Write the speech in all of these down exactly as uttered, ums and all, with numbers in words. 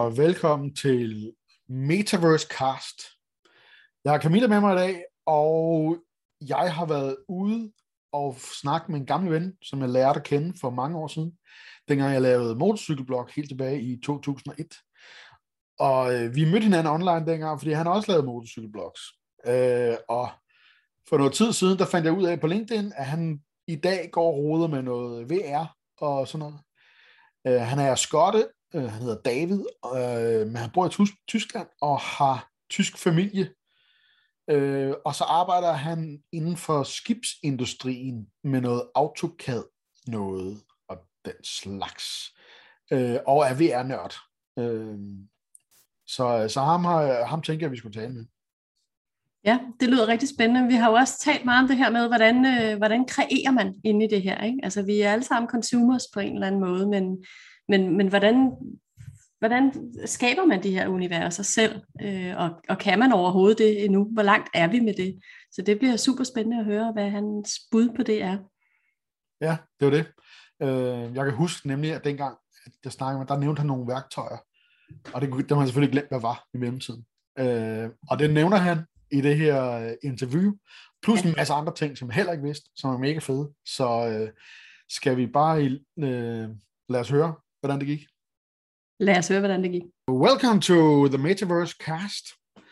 og velkommen til Metaverse Cast. Jeg har Camilla med mig i dag, og jeg har været ude og snakke med en gammel ven, som jeg lærte at kende for mange år siden, dengang jeg lavede motorcykelblog helt tilbage i to tusind og et. Og øh, vi mødte hinanden online dengang, fordi han også lavede motorcykelblogs. Øh, og for noget tid siden, der fandt jeg ud af på LinkedIn, at han i dag går og roder med noget V R og sådan noget. Øh, han er skotte, øh, han hedder David, øh, men han bor i Tysk- Tyskland og har tysk familie. Øh, og så arbejder han inden for skibsindustrien med noget AutoCAD noget og den slags. Øh, og er V R-nørd. Øh, så så ham, har, ham tænker jeg, vi skulle tale med. Ja, det lyder rigtig spændende. Vi har jo også talt meget om det her med, hvordan, øh, hvordan kreerer man inde i det her, ikke? Altså, vi er alle sammen consumers på en eller anden måde, men, men, men hvordan, hvordan skaber man de her universer selv? Øh, og, og kan man overhovedet det endnu? Hvor langt er vi med det? Så det bliver super spændende at høre, hvad hans bud på det er. Ja, det var det. Øh, jeg kan huske nemlig, at dengang, at jeg snakkede med, der nævnte han nogle værktøjer, og det, det har man selvfølgelig glemt, hvad var i mellemtiden. Øh, og det nævner han i det her interview, plus en masse andre ting, som jeg heller ikke vidste, som er mega fede. Så øh, skal vi bare øh, lade os høre, hvordan det gik? Lad os høre, hvordan det gik. Welcome to the Metaverse Cast.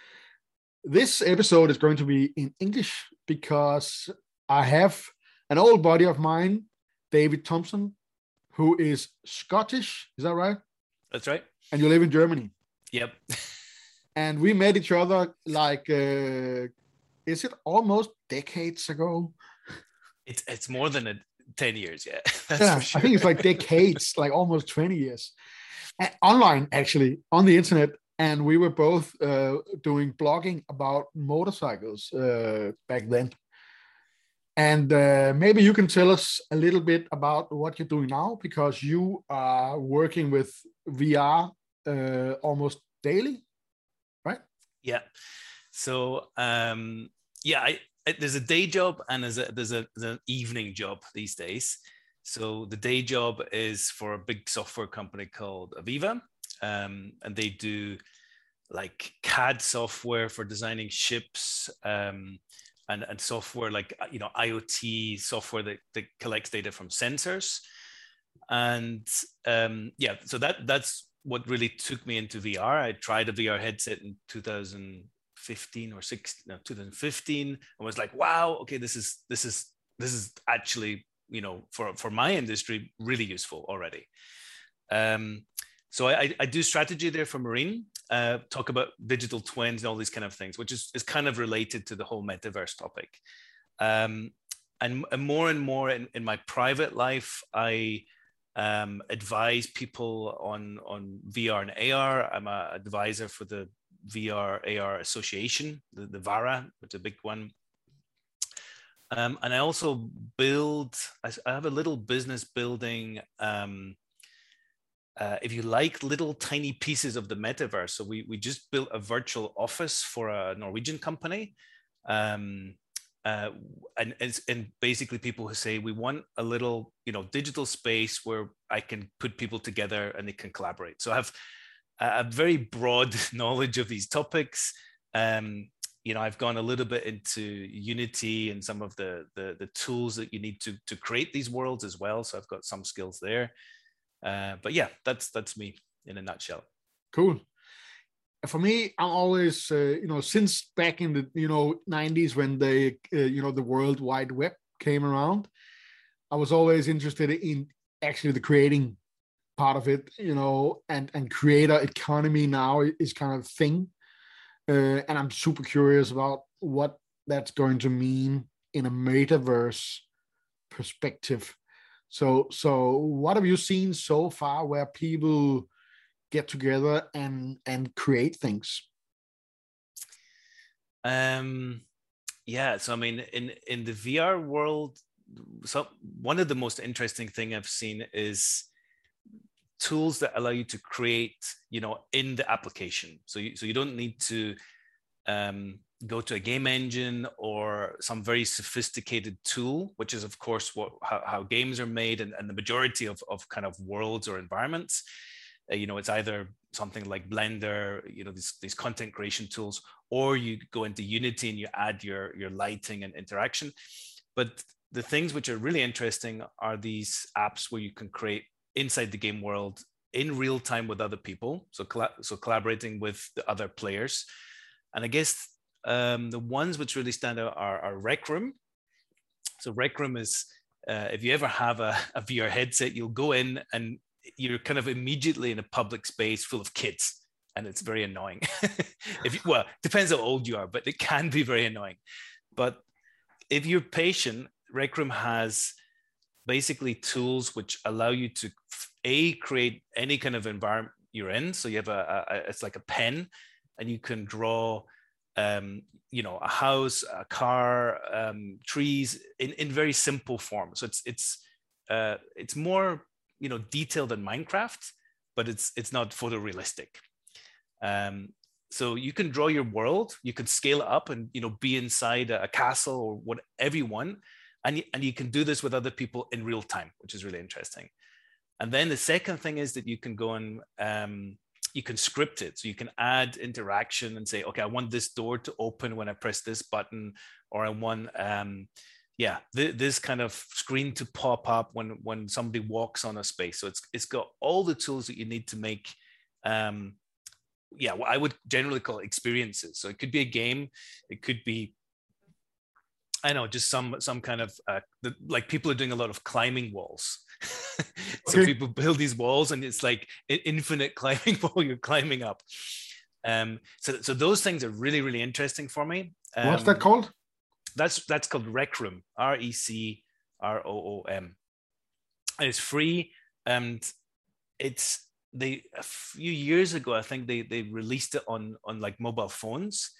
This episode is going to be in English because I have an old buddy of mine, David Thompson, who is Scottish. Is that right? That's right. And you live in Germany. Yep. And we met each other like, uh, is it almost decades ago? It's it's more than a ten years, yeah. That's Yeah, for sure. I think it's like decades, like almost twenty years. And online, actually, on the internet. And we were both uh, doing blogging about motorcycles uh, back then. And uh, maybe you can tell us a little bit about what you're doing now, because you are working with V R uh, almost daily. Yeah. So um, yeah, I, I, there's a day job and there's a there's a there's an evening job these days. So the day job is for a big software company called Aviva, um, and they do like C A D software for designing ships, um, and and software like you know IoT software that, that collects data from sensors, and um, yeah, so that that's what really took me into V R. I tried a V R headset in two thousand fifteen or sixteen, no, two thousand fifteen, and was like, wow, okay, this is this is this is actually, you know, for for my industry, really useful already. Um, so I, I do strategy there for Marine, uh, talk about digital twins and all these kind of things, which is is kind of related to the whole metaverse topic. Um, and, and more and more in, in my private life, I Um, advise people on on V R and A R. I'm an advisor for the V R A R Association, the, the VARA, which is a big one. Um, and I also build, I, I have a little business building, um, uh, if you like, little tiny pieces of the metaverse. So we, we just built a virtual office for a Norwegian company. Um, Uh, and, and basically people who say we want a little, you know, digital space where I can put people together and they can collaborate. So I have a, a very broad knowledge of these topics. Um, you know, I've gone a little bit into Unity and some of the, the, the tools that you need to, to create these worlds as well. So I've got some skills there. Uh, but yeah, that's that's me in a nutshell. Cool. For me, I'm always, uh, you know, since back in the, you know, nineties when the, uh, you know, the World Wide Web came around, I was always interested in actually the creating part of it, you know, and, and creator economy now is kind of a thing. Uh, and I'm super curious about what that's going to mean in a metaverse perspective. So, so what have you seen so far where people get together and and create things? Um, yeah, so I mean, in in the V R world, so one of the most interesting thing I've seen is tools that allow you to create, you know, in the application. So you so you don't need to um, go to a game engine or some very sophisticated tool, which is of course what how, how games are made and, and the majority of of kind of worlds or environments. Uh, you know, it's either something like Blender, you know, these, these content creation tools, or you go into Unity and you add your, your lighting and interaction. But the things which are really interesting are these apps where you can create inside the game world in real time with other people. So, so collaborating with the other players. And I guess um, the ones which really stand out are, are Rec Room. So Rec Room is, uh, if you ever have a, a V R headset, you'll go in and you're kind of immediately in a public space full of kids. And it's very annoying. if you, well, depends how old you are, but it can be very annoying. But if you're patient, Rec Room has basically tools which allow you to a create any kind of environment you're in. So you have a, a it's like a pen, and you can draw, um, you know, a house, a car, um, trees in, in very simple form. So it's it's uh, it's more, you know, detailed than Minecraft, but it's it's not photorealistic. Um, so you can draw your world, you can scale it up, and you know, be inside a, a castle or whatever you want. And, and you can do this with other people in real time, which is really interesting. And then the second thing is that you can go and um, you can script it. So you can add interaction and say, okay, I want this door to open when I press this button, or I want, um, yeah, th this kind of screen to pop up when, when somebody walks on a space. So it's, it's got all the tools that you need to make, um, yeah, what I would generally call experiences. So it could be a game, it could be, I know, just some some kind of uh, the, like people are doing a lot of climbing walls. So okay. People build these walls, and it's like an infinite climbing wall you're climbing up. Um, so so those things are really really interesting for me. Um, What's that called? That's that's called Rec Room. R E C R O O M. And it's free, and it's they a few years ago I think they they released it on on like mobile phones.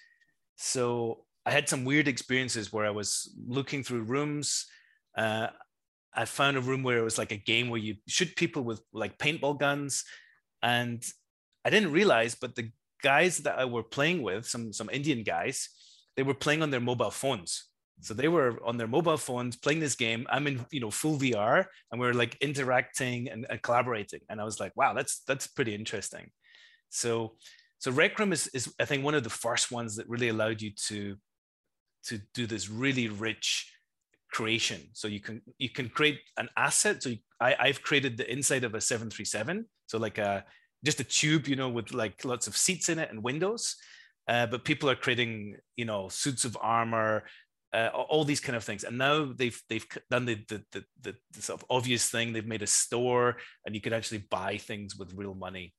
So I had some weird experiences where I was looking through rooms. Uh, I found a room where it was like a game where you shoot people with like paintball guns. And I didn't realize, but the guys that I were playing with, some, some Indian guys, they were playing on their mobile phones. So they were on their mobile phones playing this game. I'm in, you know, full V R, and we're like interacting and, and collaborating. And I was like, wow, that's, that's pretty interesting. So, so Rec Room is, is, I think, one of the first ones that really allowed you to to do this really rich creation. So you can you can create an asset. So you, I, I've created the inside of a seven thirty-seven. So like a just a tube, you know, with like lots of seats in it and windows. Uh, but people are creating, you know, suits of armor, uh, all these kind of things. And now they've they've done the the, the the the sort of obvious thing. They've made a store, and you could actually buy things with real money.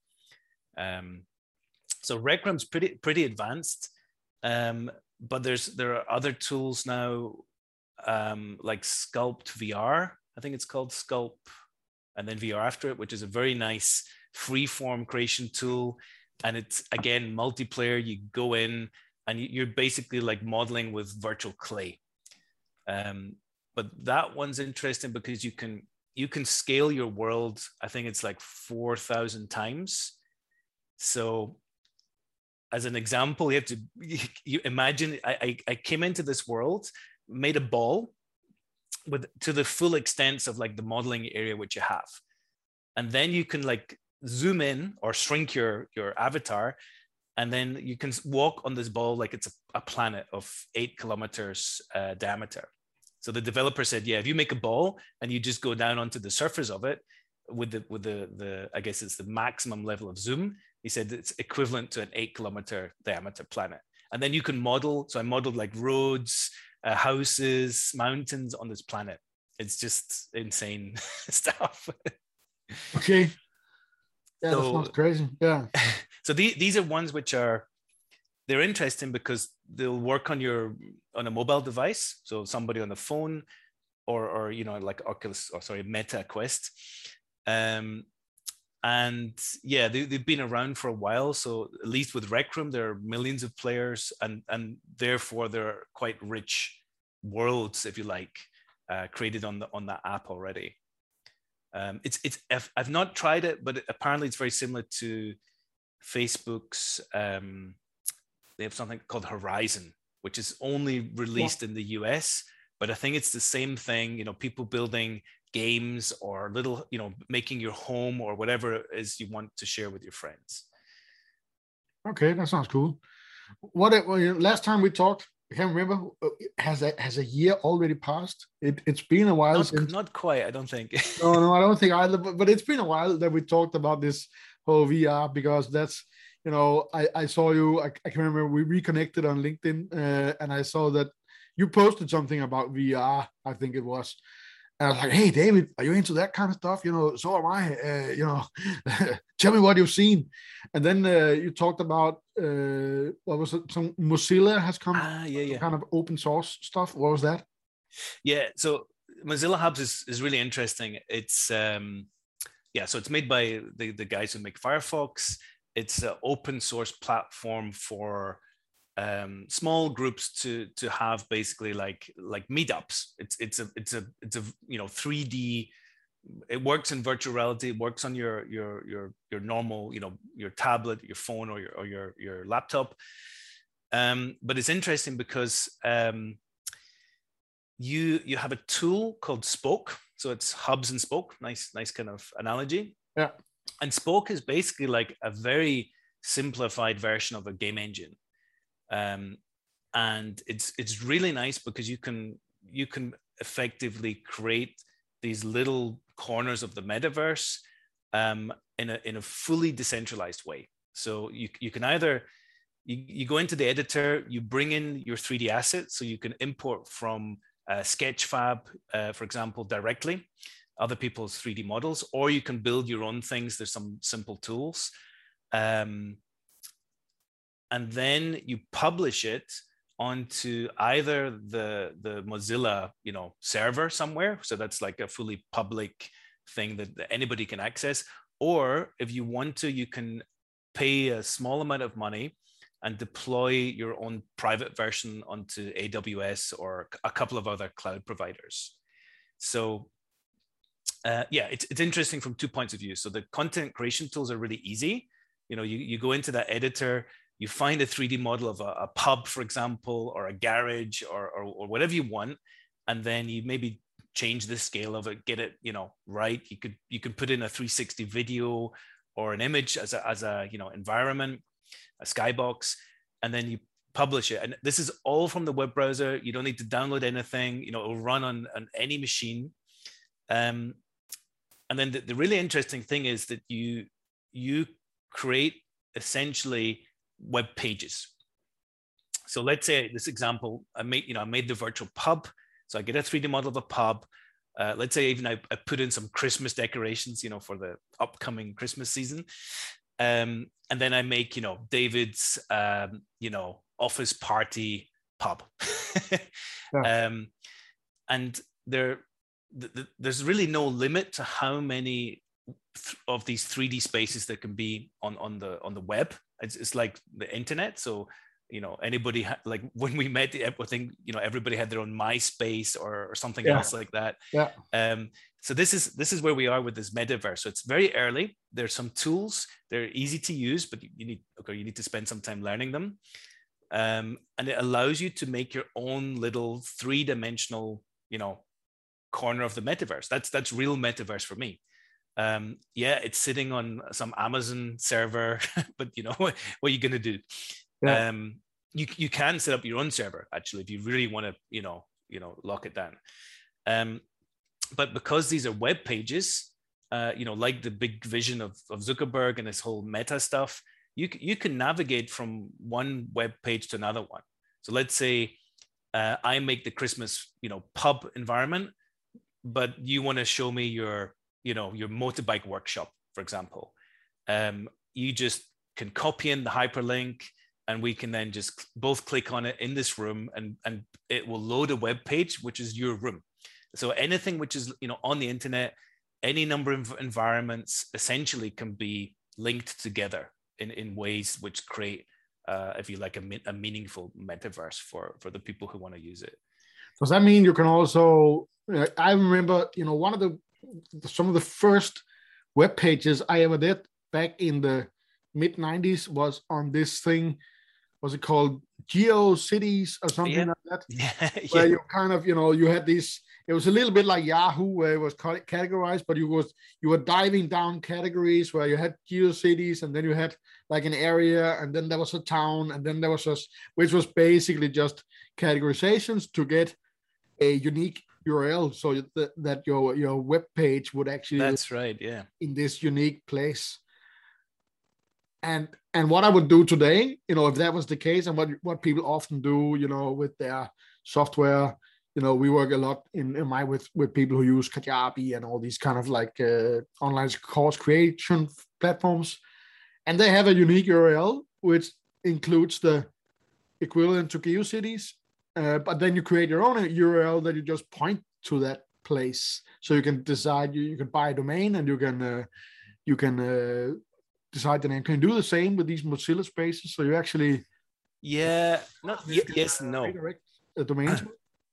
Um, so Rec Room's pretty pretty advanced. Um, But there's there are other tools now, um, like Sculpt V R. I think it's called Sculpt, and then V R after it, which is a very nice free-form creation tool. And it's, again, multiplayer. You go in and you're basically like modeling with virtual clay. Um, but that one's interesting because you can you can scale your world. I think it's like four thousand times. So as an example, you have to you imagine I, I, I came into this world, made a ball with to the full extent of like the modeling area which you have. And then you can like zoom in or shrink your, your avatar. And then you can walk on this ball like it's a, a planet of eight kilometers uh, diameter. So the developer said, yeah, if you make a ball and you just go down onto the surface of it with the, with the, the I guess it's the maximum level of zoom, he said it's equivalent to an eight kilometer diameter planet. And then you can model. So I modeled like roads, uh, houses, mountains on this planet. It's just insane stuff. Okay. Yeah, so, that sounds crazy. Yeah. So the, these are ones which are, they're interesting because they'll work on your, on a mobile device. So somebody on the phone or, or you know, like Oculus, or sorry, Meta Quest. Um, And yeah, they, they've been around for a while. So at least with Rec Room, there are millions of players, and, and therefore there are quite rich worlds, if you like, uh, created on the on that app already. Um, it's it's I've not tried it, but apparently it's very similar to Facebook's. Um, they have something called Horizon, which is only released yeah. in the U S, but I think it's the same thing. You know, people building games or little, you know, making your home or whatever it is you want to share with your friends. Okay, that sounds cool. What well, last time we talked, I can't remember. Has a has a year already passed? It it's been a while not, since. Not quite, I don't think. no, no, I don't think either. But, but it's been a while that we talked about this whole V R, because that's, you know, I I saw you. I, I can remember we reconnected on LinkedIn, uh, and I saw that you posted something about V R. I think it was. And I was like, hey, David, are you into that kind of stuff? You know, so am I. Uh, you know, tell me what you've seen. And then uh, you talked about, uh, what was it? Some Mozilla has come, ah, yeah, yeah. kind of open source stuff. What was that? Yeah, so Mozilla Hubs is, is really interesting. It's, um, yeah, so it's made by the, the guys who make Firefox. It's an open source platform for Um, small groups to to have basically like like meetups. It's it's a it's a it's a you know three D. It works in virtual reality. It works on your your your your normal, you know, your tablet, your phone, or your or your your laptop. Um, but it's interesting because um, you you have a tool called Spoke. So it's hubs and spoke. Nice nice kind of analogy. Yeah. And Spoke is basically like a very simplified version of a game engine. Um, and it's it's really nice because you can you can effectively create these little corners of the metaverse um, in a in a fully decentralized way. So you you can either you, you go into the editor, you bring in your three D assets, so you can import from uh, Sketchfab, uh, for example, directly, other people's three D models, or you can build your own things. There's some simple tools. Um, And then you publish it onto either the, the Mozilla, you know, server somewhere. So that's like a fully public thing that, that anybody can access. Or if you want to, you can pay a small amount of money and deploy your own private version onto A W S or a couple of other cloud providers. So uh, yeah, it's, it's interesting from two points of view. So the content creation tools are really easy. You know, you, you go into that editor, you find a three D model of a, a pub, for example, or a garage, or, or, or whatever you want, and then you maybe change the scale of it, get it, you know, right. You could you could put in a three sixty video or an image as a as a you know environment, a skybox, and then you publish it. And this is all from the web browser. You don't need to download anything. You know, it will run on, on any machine. Um, and then the, the really interesting thing is that you you create essentially web pages. So let's say this example, I made, you know, I made the virtual pub. So I get a three D model of a pub. Uh, let's say even I, I put in some Christmas decorations, you know, for the upcoming Christmas season. Um, and then I make, you know, David's, um, you know, office party pub. yeah. um, and there, th th there's really no limit to how many of these three D spaces that can be on, on the on the web. It's, it's like the internet. So, you know, anybody ha- like when we met, I think, you know, everybody had their own MySpace or, or something yeah. else like that. Yeah. Um, so this is this is where we are with this metaverse. So it's very early. There's some tools. They're easy to use, but you, you need okay, you need to spend some time learning them. Um, and it allows you to make your own little three-dimensional, you know, corner of the metaverse. That's that's real metaverse for me. Um, yeah, it's sitting on some Amazon server, but you know, what, what are you going to do? Yeah. Um, you, you can set up your own server, actually, if you really want to, you know, you know, lock it down. Um, but because these are web pages, uh, you know, like the big vision of, of Zuckerberg and this whole meta stuff, you, you can navigate from one web page to another one. So let's say uh, I make the Christmas, you know, pub environment, but you want to show me your you know, your motorbike workshop, for example. Um, you just can copy in the hyperlink and we can then just both click on it in this room and, and it will load a web page, which is your room. So anything which is, you know, on the internet, any number of environments essentially can be linked together in, in ways which create, uh, if you like, a, a meaningful metaverse for, for the people who want to use it. Does that mean you can also, uh, I remember, you know, one of the, some of the first web pages I ever did back in the mid nineties was on this thing was it called GeoCities or something yeah. like that? Yeah, where yeah. you kind of, you know, you had this, it was a little bit like Yahoo where it was categorized, but you was you were diving down categories where you had GeoCities, and then you had like an area, and then there was a town, and then there was just, which was basically just categorizations to get a unique U R L, so that, that your your web page would actually, that's right, yeah, in this unique place. And and what I would do today, you know, if that was the case, and what what people often do, you know, with their software, you know, we work a lot in, in my with with people who use Kajabi and all these kind of like uh, online course creation platforms, and they have a unique U R L which includes the equivalent to GeoCities, uh, but then you create your own U R L that you just point to that place, so you can decide you, you can buy a domain, and you can uh, you can. Uh, decide the name. Can you do the same with these Mozilla spaces? So you actually, yeah, not y- yes, no. Redirect the domains.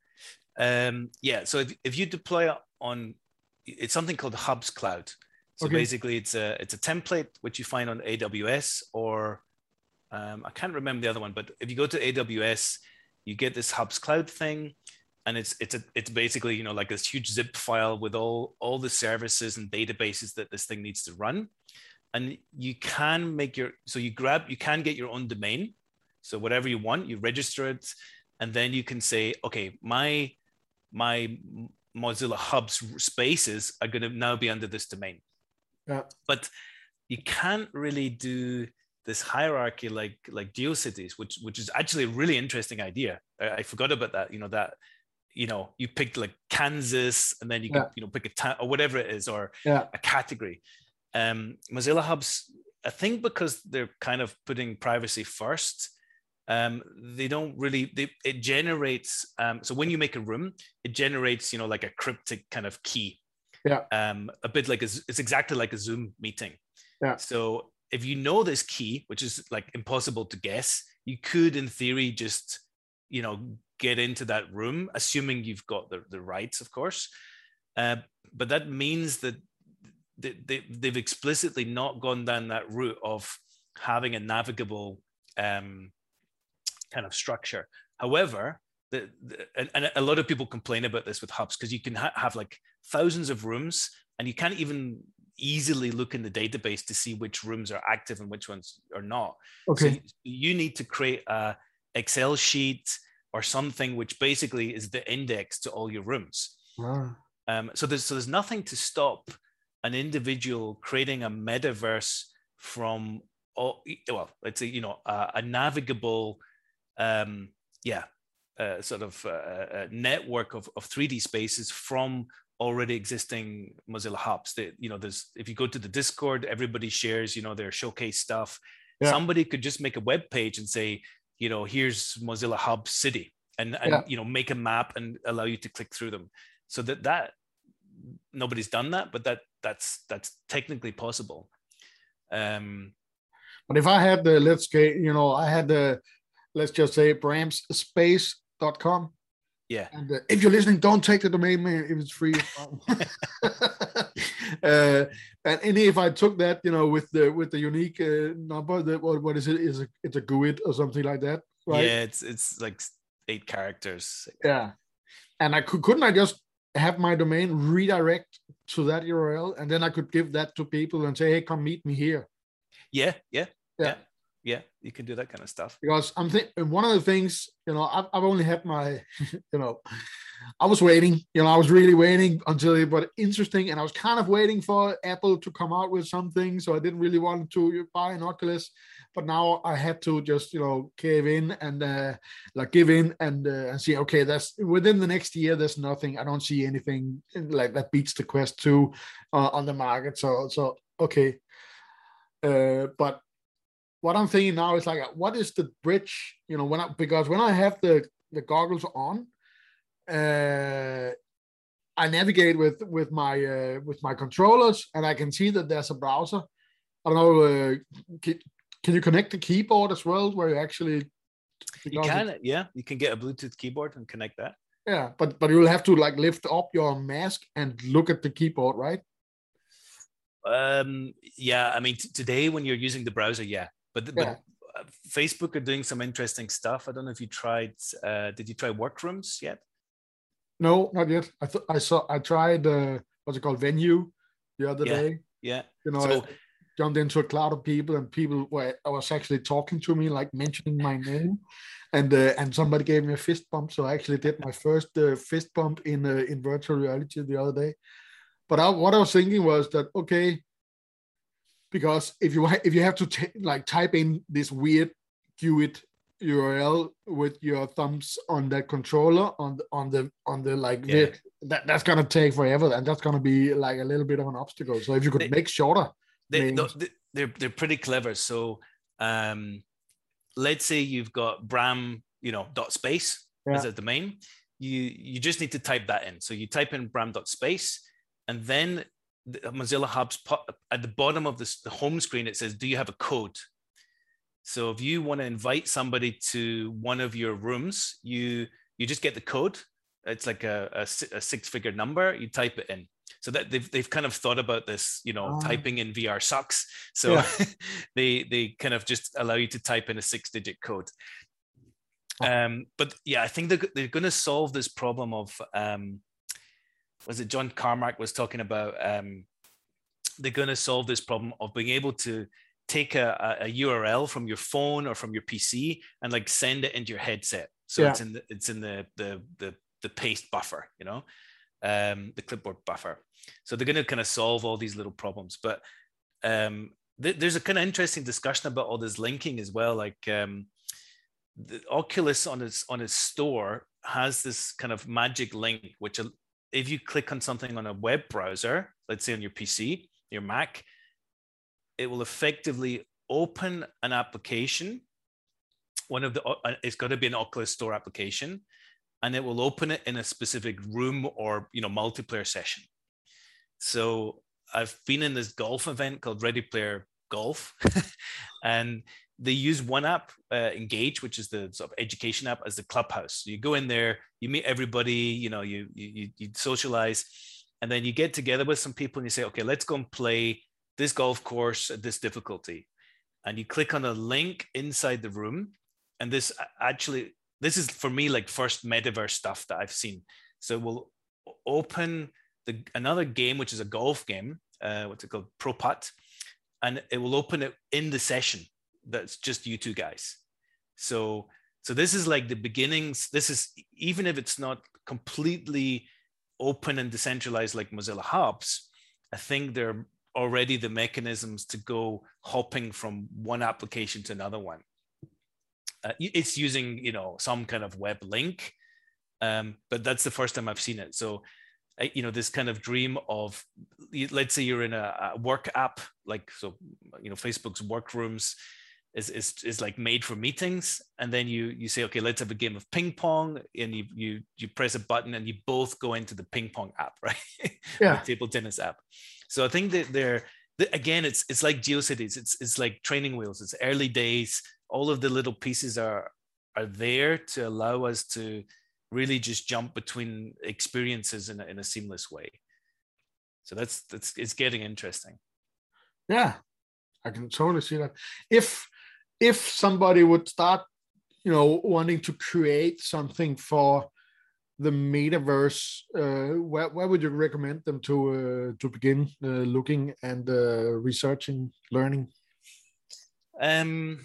um, yeah. So if, if you deploy on, it's something called Hubs Cloud. So okay. basically, it's a it's a template which you find on A W S, or um, I can't remember the other one. But if you go to A W S, you get this Hubs Cloud thing, and it's it's a it's basically, you know, like this huge zip file with all all the services and databases that this thing needs to run. And you can make your, so you grab, you can get your own domain. So whatever you want, you register it, and then you can say, okay, my, my Mozilla Hubs spaces are going to now be under this domain. Yeah. But you can't really do this hierarchy like, like GeoCities, which, which is actually a really interesting idea. I, I forgot about that, you know, that, you know, you picked like Kansas, and then you yeah. can, you know, pick a town or whatever it is, or yeah. a category. Um, Mozilla Hubs, I think because they're kind of putting privacy first, um, they don't really, they, it generates, um, so when you make a room, it generates, you know, like a cryptic kind of key. Yeah. Um, a bit like, a, it's exactly like a Zoom meeting. Yeah. So if you know this key, which is like impossible to guess, you could in theory just, you know, get into that room, assuming you've got the, the rights, of course. Uh, but that means that They, they, they've explicitly not gone down that route of having a navigable um, kind of structure. However, the, the, and, and a lot of people complain about this with Hubs, because you can ha- have like thousands of rooms, and you can't even easily look in the database to see which rooms are active and which ones are not. Okay. So you need to create a Excel sheet or something which basically is the index to all your rooms. Wow. Um, so there's so there's nothing to stop an individual creating a metaverse from, all, well, let's say, you know, uh, a navigable, um, yeah, uh, sort of uh, a network of, of three D spaces from already existing Mozilla Hubs. That, you know, there's, if you go to the Discord, everybody shares, you know, their showcase stuff. Yeah. Somebody could just make a web page and say, you know, here's Mozilla Hub City, and, and yeah. you know, make a map and allow you to click through them. So that that nobody's done that, but that that's that's technically possible. Um, but if I had the, let's say, you know, I had the, let's just say bram's space dot com. Yeah. And uh, if you're listening, don't take the domain name if it's free. uh, and, and if I took that, you know, with the with the unique uh, number, that what what is it? Is a, it's a G U I D or something like that, right? Yeah, it's it's like eight characters. Yeah. And I could couldn't I just have my domain redirect to that U R L, and then I could give that to people and say, hey, come meet me here. Yeah, yeah, yeah, yeah, yeah. You can do that kind of stuff. Because I'm thinking one of the things, you know, I've, I've only had my, you know, I was waiting, you know, I was really waiting until it was interesting, and I was kind of waiting for Apple to come out with something, so I didn't really want to buy an Oculus, but now I had to just, you know, cave in and uh, like give in and uh, and see, okay, that's within the next year, there's nothing, I don't see anything like that beats the Quest two uh, on the market, so so okay, uh, but what I'm thinking now is like, what is the bridge, you know, when I, because when I have the the goggles on, uh, I navigate with with my uh, with my controllers, and I can see that there's a browser. I don't know. Uh, can, can you connect the keyboard as well, where you actually? You can, yeah. You can get a Bluetooth keyboard and connect that. Yeah, but but you'll have to like lift up your mask and look at the keyboard, right? Um. Yeah. I mean, t- today when you're using the browser, yeah. But, yeah. but Facebook are doing some interesting stuff. I don't know if you tried. Uh, did you try Workrooms yet? No, not yet. I thought I saw. I tried. Uh, what's it called? Venue the other Yeah. day. Yeah. You know, So, I jumped into a cloud of people, and people were. I was actually talking to me, like mentioning my name, and uh, and somebody gave me a fist bump. So I actually did my first uh, fist bump in uh, in virtual reality the other day. But I, what I was thinking was that okay, because if you if you have to t- like type in this weird G U I D U R L with your thumbs on that controller on the on the on the like yeah. the, that that's gonna take forever, and that's gonna be like a little bit of an obstacle. So if you could They, make shorter they, names, they, they're they're pretty clever. So um, let's say you've got Bram, you know, dot space yeah. as a domain. You you just need to type that in. So you type in Bram dot space, and then the Mozilla Hub's pop, at the bottom of this, the home screen, it says, "Do you have a code?" So if you want to invite somebody to one of your rooms, you you just get the code. It's like a, a, a six-figure number. You type it in. So that they've they've kind of thought about this. You know, oh. typing in V R sucks. So yeah. they they kind of just allow you to type in a six-digit code. Oh. Um, but yeah, I think they're they're going to solve this problem of um, was it John Carmack was talking about? Um, they're going to solve this problem of being able to take a, a U R L from your phone or from your P C and like send it into your headset. So yeah. it's in the, it's in the, the, the, the paste buffer, you know, um, the clipboard buffer. So they're going to kind of solve all these little problems, but um, th- there's a kind of interesting discussion about all this linking as well. Like um, the Oculus on its, on its store has this kind of magic link, which if you click on something on a web browser, let's say on your P C, your Mac, it will effectively open an application. One of the, it's got to be an Oculus Store application, and it will open it in a specific room or, you know, multiplayer session. So I've been in this golf event called Ready Player Golf, and they use one app, uh, Engage, which is the sort of education app, as the clubhouse. So you go in there, you meet everybody, you know, you you you socialize, and then you get together with some people and you say, okay, let's go and play this golf course at this difficulty. And you click on a link inside the room. And this actually, this is for me like first metaverse stuff that I've seen. So we'll open the another game, which is a golf game, uh, what's it called? Pro Putt. And it will open it in the session. That's just you two guys. So, so this is like the beginnings. This is, even if it's not completely open and decentralized like Mozilla Hubs, I think they're already the mechanisms to go hopping from one application to another one. Uh, it's using, you know, some kind of web link, um, but that's the first time I've seen it. So, uh, you know, this kind of dream of, let's say you're in a, a work app, like, so, you know, Facebook's Workrooms is, is, is like made for meetings. And then you, you say, okay, let's have a game of ping pong, and you, you, you press a button and you both go into the ping pong app, right? Yeah. The table tennis app. So I think that they're, again, it's it's like GeoCities. It's it's like training wheels. It's early days. All of the little pieces are are there to allow us to really just jump between experiences in a, in a seamless way. So that's that's it's getting interesting. Yeah, I can totally see that. If if somebody would start, you know, wanting to create something for the metaverse, uh, where, where would you recommend them to uh, to begin uh, looking and uh, researching, learning? Um,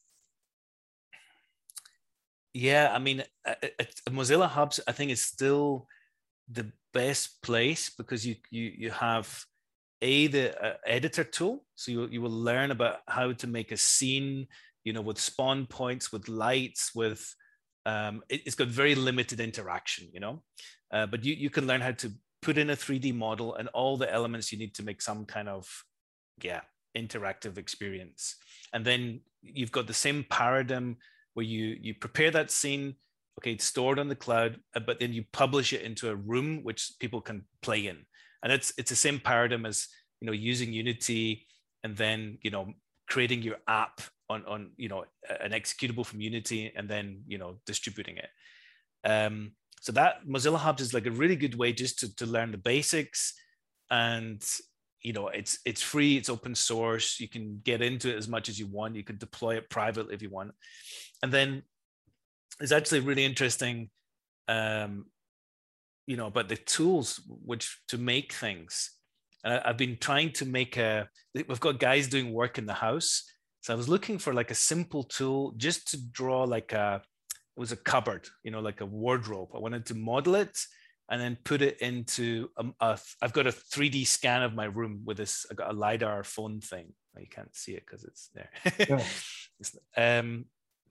yeah, I mean, uh, uh, Mozilla Hubs, I think, is still the best place because you you you have a the uh, editor tool, so you you will learn about how to make a scene, you know, with spawn points, with lights, with Um, it, it's got very limited interaction, you know, uh, but you, you can learn how to put in a three D model and all the elements you need to make some kind of, yeah, interactive experience. And then you've got the same paradigm where you, you prepare that scene, okay, it's stored on the cloud, but then you publish it into a room which people can play in. And it's, it's the same paradigm as, you know, using Unity and then, you know, creating your app on, on, you know, an executable from Unity and then, you know, distributing it. Um, so that Mozilla Hubs is like a really good way just to, to learn the basics. And you know, it's it's free, it's open source. You can get into it as much as you want. You can deploy it privately if you want. And then it's actually really interesting, um, you know, about the tools which to make things. Uh, I've been trying to make a, we've got guys doing work in the house. So I was looking for like a simple tool just to draw like a, it was a cupboard, you know, like a wardrobe. I wanted to model it and then put it into, a, a, I've got a three D scan of my room with this, I got a LiDAR phone thing. You can't see it because it's there. Yeah. um,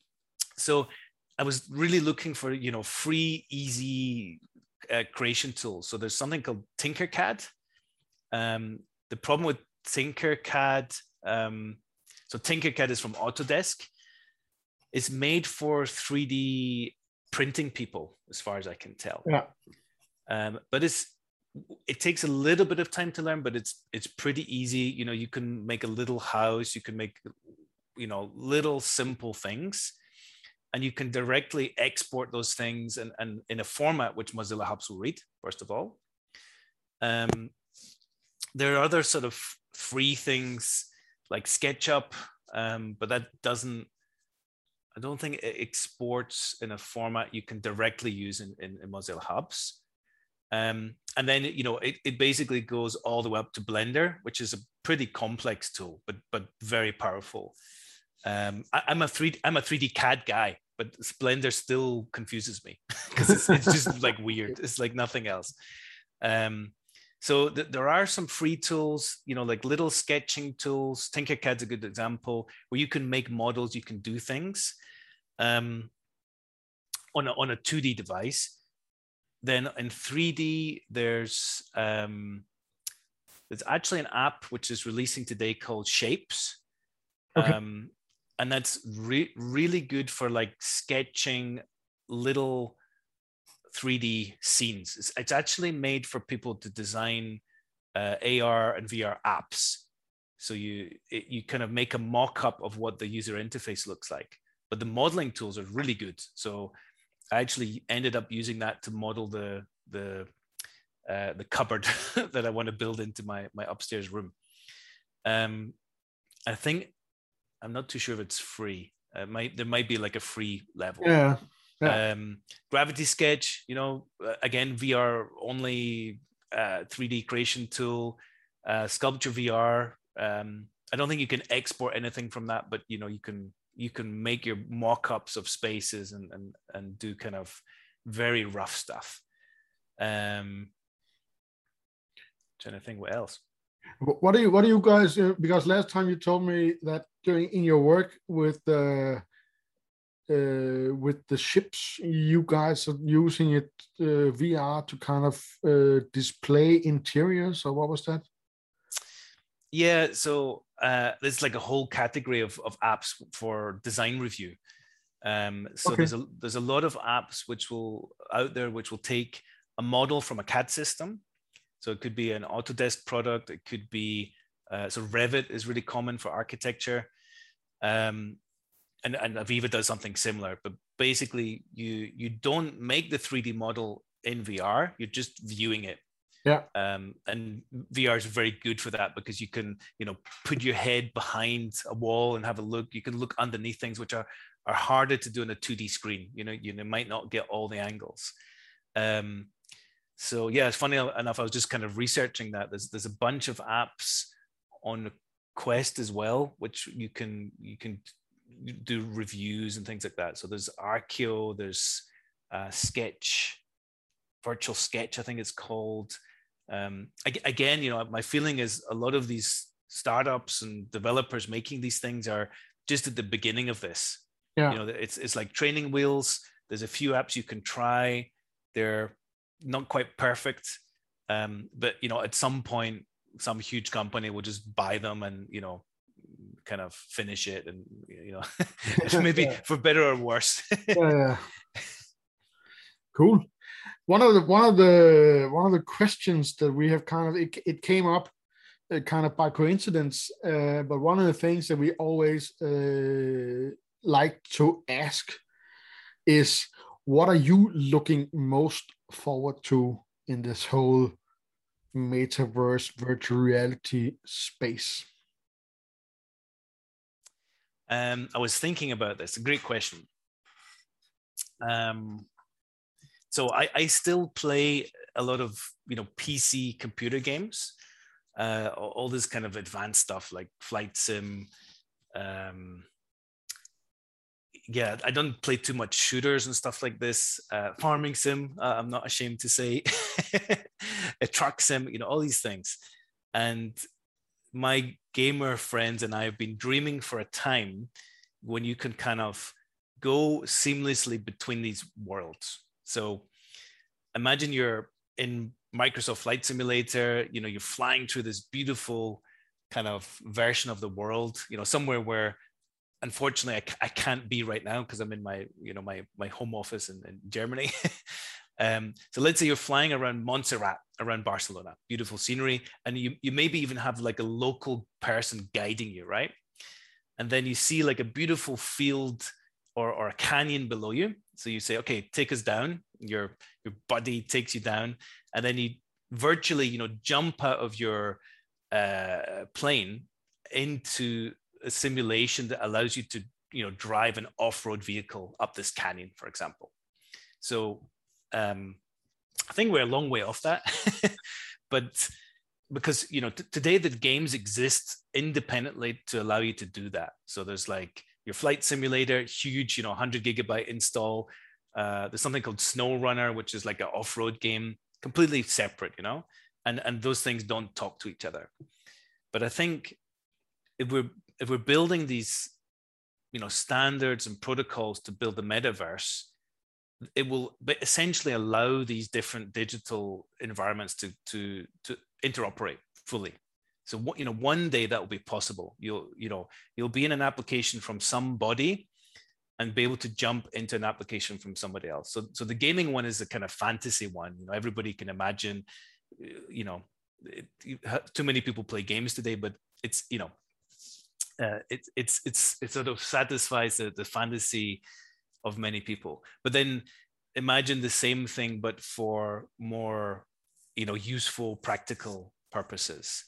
so I was really looking for, you know, free, easy uh, creation tools. So there's something called Tinkercad. Um, the problem with Tinkercad, um, so Tinkercad is from Autodesk. It's made for three D printing people, as far as I can tell. Yeah. Um, but it's it takes a little bit of time to learn, but it's it's pretty easy. You know, you can make a little house, you can make, you know, little simple things, and you can directly export those things and, and in a format which Mozilla Hubs will read, first of all. Um, there are other sort of free things like SketchUp, um, but that doesn't, I don't think it exports in a format you can directly use in, in, in Mozilla Hubs. Um, and then, you know, it, it basically goes all the way up to Blender, which is a pretty complex tool, but but very powerful. Um, I, I'm a three I'm a three D C A D guy, but Blender still confuses me because it's, it's just like weird. It's like nothing else. Um, so th there are some free tools, you know, like little sketching tools. Tinkercad's a good example where you can make models, you can do things um, on a, on a two D device. Then in three D, there's um, there's actually an app which is releasing today called Shapes. Okay. Um, and that's re really good for like sketching little three D scenes. It's, it's actually made for people to design uh, A R and V R apps. So you it, you kind of make a mock-up of what the user interface looks like. But the modeling tools are really good. So I actually ended up using that to model the the uh, the cupboard that I want to build into my my upstairs room. Um, I think I'm not too sure if it's free. Uh, might there might be like a free level. Yeah. yeah. Um, Gravity Sketch, you know, again V R only uh, three D creation tool. Uh, Sculpture V R. Um, I don't think you can export anything from that, but you know you can. You can make your mock-ups of spaces and, and, and do kind of very rough stuff. Um, trying to think what else. What do you, what do you guys, uh, because last time you told me that during in your work with the, uh, with the ships, you guys are using it, uh, V R to kind of uh, display interiors, or what was that? Yeah, so uh, there's like a whole category of, of apps for design review. Um, so okay. there's a there's a lot of apps which will out there which will take a model from a C A D system. So it could be an Autodesk product. It could be uh, so Revit is really common for architecture, um, and and Aviva does something similar. But basically, you you don't make the three D model in V R. You're just viewing it. Yeah. Um, and V R is very good for that because you can, you know, put your head behind a wall and have a look. You can look underneath things which are are harder to do on a two D screen. You know, you might not get all the angles. Um, so yeah, it's funny enough. I was just kind of researching that. There's there's a bunch of apps on Quest as well, which you can you can do reviews and things like that. So there's Archeo, there's uh, Sketch, Virtual Sketch, I think it's called. Um, again, you know, my feeling is a lot of these startups and developers making these things are just at the beginning of this. Yeah. You know, it's it's like training wheels. There's a few apps you can try. They're not quite perfect, um, but you know, at some point, some huge company will just buy them and you know, kind of finish it, and you know, maybe yeah. for better or worse. yeah. Cool. One of the one of the one of the questions that we have kind of it, it came up uh, kind of by coincidence, uh, but one of the things that we always uh, like to ask is, what are you looking most forward to in this whole metaverse virtual reality space? Um, I was thinking about this. A great question. Um, so I, I still play a lot of, you know, P C computer games, uh, all, all this kind of advanced stuff like Flight Sim. Um, yeah, I don't play too much shooters and stuff like this. Uh, farming sim, uh, I'm not ashamed to say. A truck sim, you know, all these things. And my gamer friends and I have been dreaming for a time when you can kind of go seamlessly between these worlds. So imagine you're in Microsoft Flight Simulator, you know, you're flying through this beautiful kind of version of the world, you know, somewhere where unfortunately I, I can't be right now because I'm in my, you know, my, my home office in, in Germany. Um, so let's say you're flying around Montserrat, around Barcelona, beautiful scenery, and you, you maybe even have like a local person guiding you, right? And then you see like a beautiful field or, or a canyon below you. So you say, okay, take us down. Your, your buddy takes you down, and then you virtually, you know, jump out of your uh, plane into a simulation that allows you to, you know, drive an off-road vehicle up this canyon, for example. So Um, I think we're a long way off that, but because, you know, t- today the games exist independently to allow you to do that. So there's like your flight simulator, huge, you know, one hundred gigabyte install. Uh, there's something called SnowRunner, which is like an off-road game, completely separate, you know, and, and those things don't talk to each other. But I think if we're, if we're building these, you know, standards and protocols to build the metaverse, it will essentially allow these different digital environments to to to interoperate fully. So what, you know, one day that will be possible. You'll you know you'll be in an application from somebody and be able to jump into an application from somebody else. So so the gaming one is a kind of fantasy one. You know, everybody can imagine. You know, it, too many people play games today, but it's you know, uh, it, it's it's it sort of satisfies the, the fantasy of many people. But then imagine the same thing, but for more, you know, useful, practical purposes.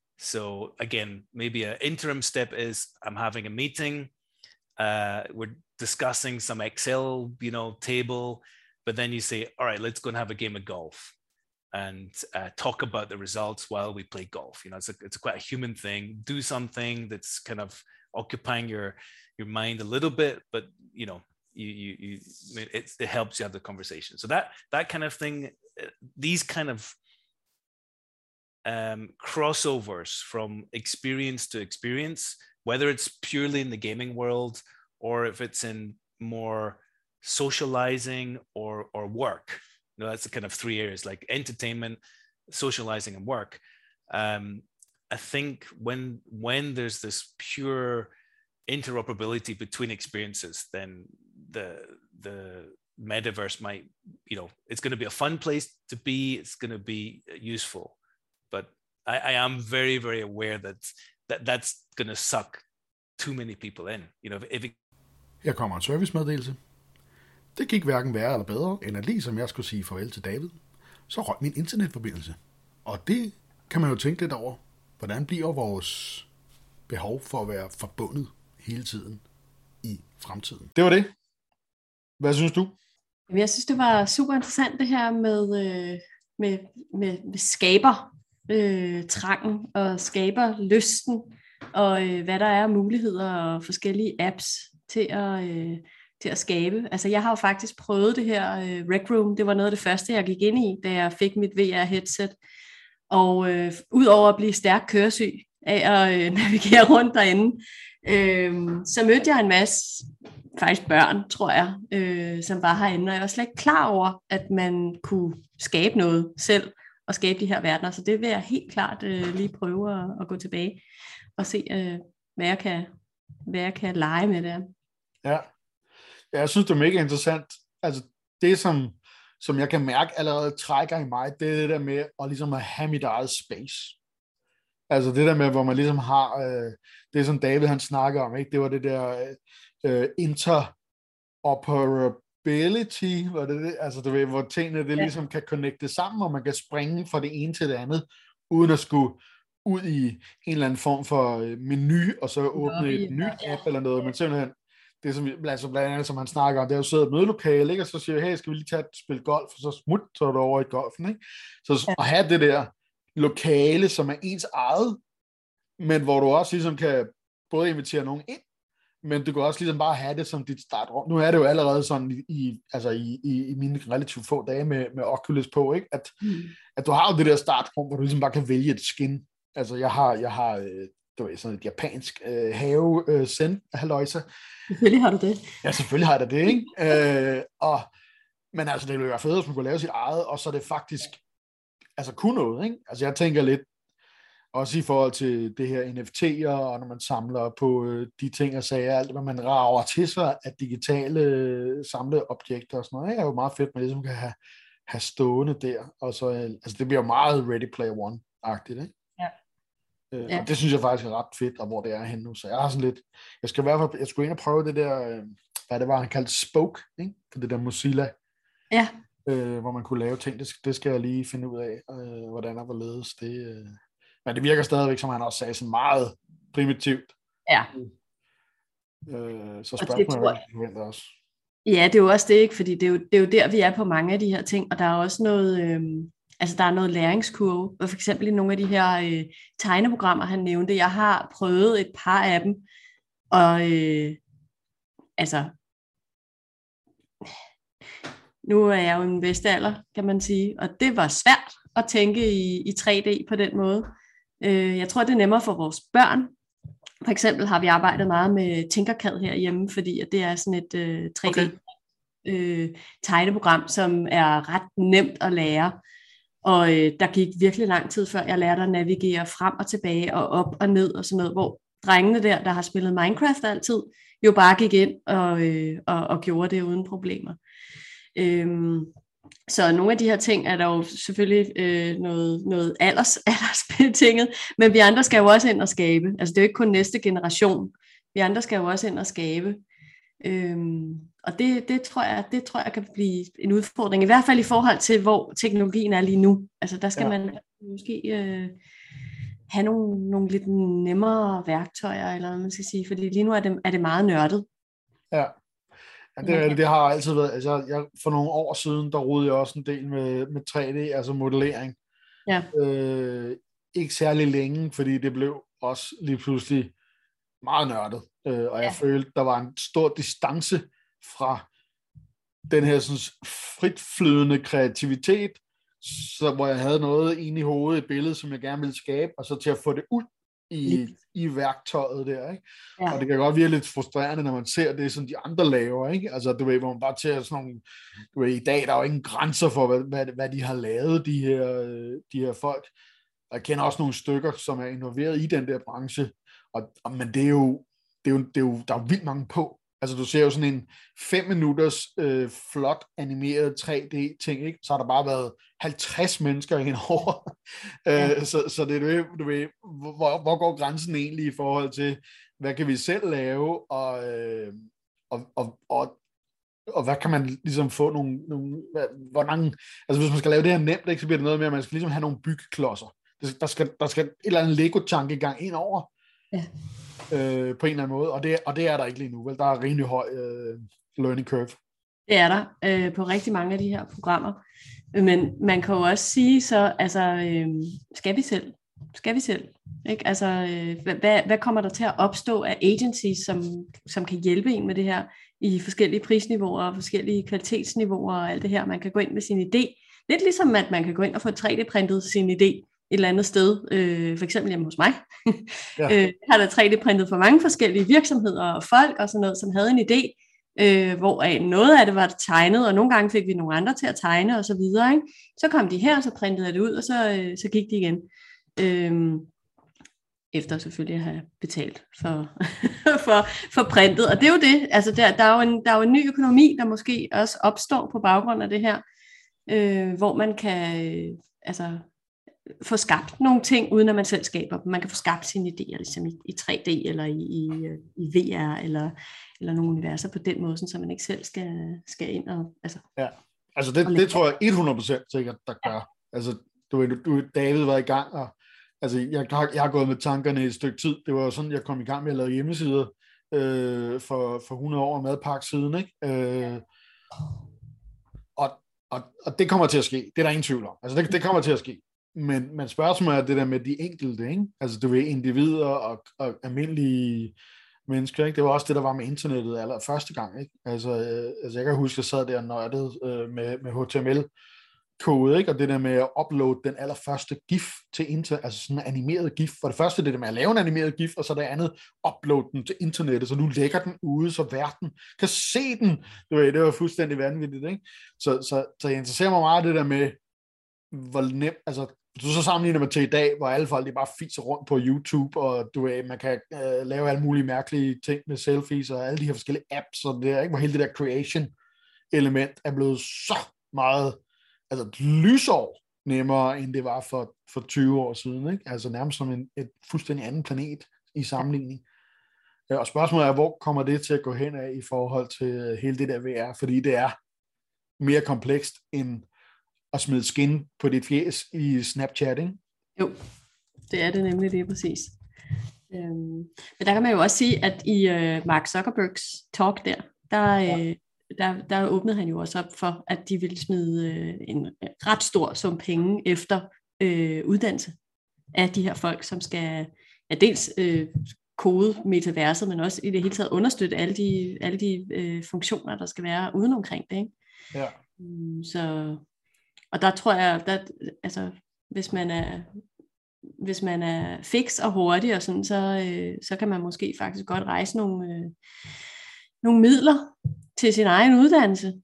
So again, maybe an interim step is I'm having a meeting, uh, we're discussing some Excel, you know, table, but then you say, all right, let's go and have a game of golf and uh, talk about the results while we play golf. You know, it's a, it's a quite a human thing. Do something that's kind of occupying your your mind a little bit, but you know, you you, you it, it helps you have the conversation. So that that kind of thing, these kind of um, crossovers from experience to experience, whether it's purely in the gaming world or if it's in more socializing or or work. You know, that's the kind of three areas, like entertainment, socializing, and work. Um, I think when when there's this pure interoperability between experiences, then the the metaverse might, you know, it's going to be a fun place to be. It's going to be useful, but I, I am very very aware that that that's going to suck too many people in. You know, if it... Her kommer en servicemeddelelse. Det gik hverken værre eller bedre, end at lige som jeg skulle sige farvel til David, så røg min internetforbindelse. Og det kan man jo tænke lidt over. Hvordan bliver vores behov for at være forbundet hele tiden i fremtiden? Det var det. Hvad synes du? Jeg synes, det var super interessant det her med, med, med, med skaber øh, trangen og skaber lysten, og øh, hvad der er muligheder og forskellige apps til at... Øh, til at skabe. Altså jeg har jo faktisk prøvet det her uh, Rec Room. Det var noget af det første, jeg gik ind i, da jeg fik mit V R-headset. Og uh, udover at blive stærk køresyg af at uh, navigere rundt derinde, uh, så mødte jeg en masse, faktisk børn, tror jeg, uh, som var herinde. Og jeg var slet ikke klar over, at man kunne skabe noget selv, og skabe de her verdener. Så det vil jeg helt klart uh, lige prøve at, at gå tilbage og se, uh, hvad, jeg kan, hvad jeg kan lege med det. Ja. Ja, jeg synes, det er mega interessant. Altså, det som, som jeg kan mærke allerede trækker i mig, det er det der med at ligesom at have mit eget space. Altså det der med, hvor man ligesom har, øh, det som David han snakker om, ikke? Det var det der øh, interoperability, mobility, hvor, det, altså, du ved, hvor tingene det Ja. ligesom kan connecte sammen, og man kan springe fra det ene til det andet, uden at skulle ud i en eller anden form for menu, og så åbne Lobby, et nyt ja. app eller noget, men simpelthen, det som, altså blandt andet, som han snakker om, det er jo siddet et mødelokale, ikke? Og så siger jeg, hey, skal vi lige tage et spil golf, og så smut, så er du over i golfen, ikke? Så Ja. at have det der lokale, som er ens eget, men hvor du også ligesom kan både invitere nogen ind, men du kan også ligesom bare have det som dit startrum. Nu er det jo allerede sådan i, i, altså i, i, i mine relativt få dage med, med Oculus på, ikke? At, Mm. at du har jo det der startrum, hvor du ligesom bare kan vælge et skin. Altså jeg har, jeg har øh, du ved, sådan et japansk øh, have øh, send halløjsa. Selvfølgelig har du det. Ja, selvfølgelig har jeg da det, ikke? øh, og, men altså det ville være fedt, hvis man kunne lave sit eget, og så er det faktisk altså kun noget, ikke? Altså jeg tænker lidt, også i forhold til det her N F T'er, og når man samler på øh, de ting og sager, alt hvad man rager til sig af digitale øh, samleobjekter og sådan noget, ikke? Er jo meget fedt, man ligesom kan have, have stående der. Og så, øh, altså det bliver meget Ready Player One-agtigt, ikke? Ja. Øh, Ja. Og det synes jeg faktisk er ret fedt, og hvor det er henne nu. Så jeg har sådan lidt, jeg skal i hvert fald, jeg skulle ind og prøve det der, øh, hvad det var, han kaldte Spoke, ikke? For det der Mozilla. Ja. Øh, hvor man kunne lave ting. Det, det skal jeg lige finde ud af, øh, hvordan og hvorledes det... Øh, Men det virker stadigvæk, som han også sagde, sådan meget primitivt. Ja. Øh, så Og det spørgsmålet tror er, hvad jeg- vi forventer også. Ja, det er jo også det, ikke? Fordi det er, jo, det er jo der, vi er på mange af de her ting, og der er også noget, øhm, altså der er noget læringskurve, og for eksempel i nogle af de her øh, tegneprogrammer, han nævnte, jeg har prøvet et par af dem, og øh, altså, nu er jeg jo en bedste alder, kan man sige, og det var svært at tænke i, i tre D på den måde. Øh, jeg tror, det er nemmere for vores børn. For eksempel har vi arbejdet meget med Tinkercad herhjemme, fordi at det er sådan et øh, tre D Okay. øh, tegneprogram, som er ret nemt at lære. Og øh, der gik virkelig lang tid, før jeg lærte at navigere frem og tilbage og op og ned og sådan noget, hvor drengene der, der har spillet Minecraft altid, jo bare gik ind og, øh, og, og gjorde det uden problemer. Øhm, så nogle af de her ting er der jo selvfølgelig øh, noget, noget alders, aldersbetinget, men vi andre skal jo også ind og skabe. Altså det er jo ikke kun næste generation. Vi andre skal jo også ind og skabe. Øhm, og det, det, tror jeg, det tror jeg kan blive en udfordring, i hvert fald i forhold til, hvor teknologien er lige nu. Altså der skal Ja. man måske øh, have nogle, nogle lidt nemmere værktøjer, eller hvad man skal sige, fordi lige nu er det, er det meget nørdet. Ja. Ja, det, det, det har altid været, altså jeg, for nogle år siden, der rodede jeg også en del med, med tre D, altså modellering. Ja. Øh, ikke særlig længe, fordi det blev også lige pludselig meget nørdet. Øh, og jeg Ja. følte, der var en stor distance fra den her sådan, fritflydende kreativitet, så, hvor jeg havde noget inde i hovedet, et billede, som jeg gerne ville skabe, og så til at få det ud i, i værktøjet der, ikke? Ja. Og det kan godt virke lidt frustrerende, når man ser det, som de andre laver, ikke? Altså, du ved, hvor man bare ser sådan nogle, du ved, i dag, der er jo ingen grænser for, hvad, hvad, hvad de har lavet, de her, de her folk. Og jeg kender også nogle stykker, som er involveret i den der branche, og, og men det er jo, det er jo, det er jo, der er jo vildt mange på. Altså, du ser jo sådan en fem minutters øh, flot animeret tre D ting, ikke? Så har der bare været halvtreds mennesker indover. Ja. øh, så, så det er du ved, du ved hvor, hvor går grænsen egentlig i forhold til, hvad kan vi selv lave, og, øh, og, og, og, og hvad kan man ligesom få nogle, nogle hvor mange, altså hvis man skal lave det her nemt, ikke, så bliver det noget med, at man skal ligesom have nogle byggeklodser. Der skal, der skal et eller andet Lego-tankegang ind over. Ja. Øh, på en eller anden måde, og det, og det er der ikke lige nu, vel? Der er rimelig høj øh, learning curve. Det er der øh, på rigtig mange af de her programmer. Men man kan jo også sige så, altså, øh, skal vi selv? Skal vi selv? Ikke? Altså, øh, hvad, hvad kommer der til at opstå af agencies, som, som kan hjælpe en med det her i forskellige prisniveauer og forskellige kvalitetsniveauer og alt det her? Man kan gå ind med sin idé. Lidt ligesom, at man kan gå ind og få tre D-printet sin idé et eller andet sted, øh, for eksempel hjemme hos mig. Ja. øh, har der tre D-printet for mange forskellige virksomheder og folk og sådan noget, som havde en idé, øh, hvor noget af det var tegnet, og nogle gange fik vi nogle andre til at tegne og så videre. Ikke? Så kom de her, og så printede jeg det ud, og så, øh, så gik de igen. Øh, efter selvfølgelig at have betalt for, for, for printet. Og det er jo det. Altså der, der, er jo en, der er jo en ny økonomi, der måske også opstår på baggrund af det her, øh, hvor man kan øh, altså få skabt nogle ting, uden at man selv skaber dem. Man kan få skabt sine idéer ligesom i, i tre D, eller i, i, i V R, eller, eller nogle universer på den måde, så man ikke selv skal, skal ind og... Altså, ja, altså det, det tror jeg hundrede procent sikkert, der gør. Ja. Altså, du, du, David var i gang, og altså, jeg, har, jeg har gået med tankerne et stykke tid. Det var jo sådan, jeg kom i gang med at lave hjemmesider øh, for, for hundrede år madpakke siden, ikke? Øh, og, og, og det kommer til at ske. Det er der ingen tvivl om. Altså, det, det kommer til at ske. Men, men spørgsmålet er det der med de enkelte, ikke? Altså, du ved, individer og, og almindelige mennesker, ikke? Det var også det, der var med internettet aller første gang, ikke? Altså, øh, altså jeg kan huske, at jeg sad der og nørdede øh, med, med H T M L-kode, ikke? Og det der med at uploade den allerførste GIF til internet, altså sådan en animeret GIF. For det første det der med at lave en animeret GIF, og så det andet, uploade den til internettet, så nu lægger den ude, så verden kan se den. Det var, det var fuldstændig vanvittigt, ikke? Så, så, så jeg interesserer mig meget det der med, hvor nemt, altså du så sammenligner med til i dag, hvor alle folk de bare fiser rundt på YouTube, og du ved, man kan øh, lave alle mulige mærkelige ting med selfies, og alle de her forskellige apps, og det der, ikke? Hvor hele det der creation-element er blevet så meget, altså et lysår nemmere, end det var for, for tyve år siden, ikke? Altså nærmest som en et fuldstændig anden planet i sammenligning. Ja, og spørgsmålet er, hvor kommer det til at gå hen af i forhold til hele det der V R, fordi det er mere komplekst end at smide skin på dit fjes i Snapchat, ikke? Jo, det er det nemlig, det er præcis. Øhm, men der kan man jo også sige, at i øh, Mark Zuckerbergs talk der, der, øh, ja. der, der åbnede han jo også op for, at de ville smide øh, en ret stor sum penge efter øh, uddannelse af de her folk, som skal ja, dels øh, kode metaverset, men også i det hele taget understøtte alle de, alle de øh, funktioner, der skal være uden omkring det, ikke? Ja. Um, så... Og der tror jeg, at altså, hvis man er hvis man er fix og hurtig og sådan, så, øh, så kan man måske faktisk godt rejse nogle, øh, nogle midler til sin egen uddannelse,